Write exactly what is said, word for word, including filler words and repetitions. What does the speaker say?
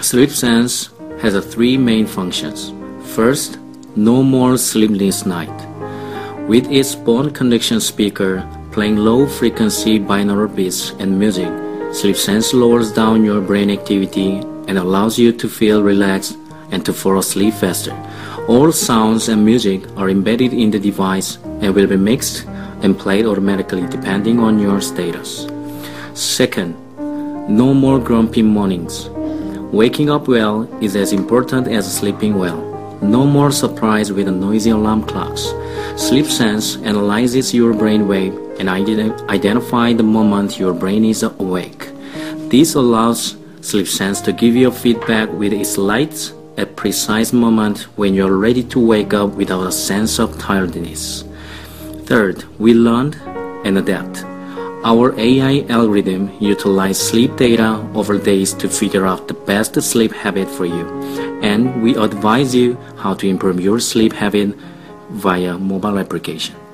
SleepSense has three main functions. First, no more sleepless night. With its bone conduction speaker playing low-frequency binaural beats and music, SleepSense lowers down your brain activity and allows you to feel relaxed and to fall asleep faster. All sounds and music are embedded in the device and will be mixed and played automatically depending on your status. Second, no more grumpy mornings. Waking up well is as important as sleeping well. No more surprise with noisy alarm clocks. SleepSense analyzes your brainwave and ident- identify the moment your brain is awake. This allows SleepSense to give you feedback with its lights at precise moment when you're ready to wake up without a sense of tiredness. Third, we learn and adapt. Our A I algorithm utilizes sleep data over days to figure out the best sleep habit for you, and we advise you how to improve your sleep habit via mobile application.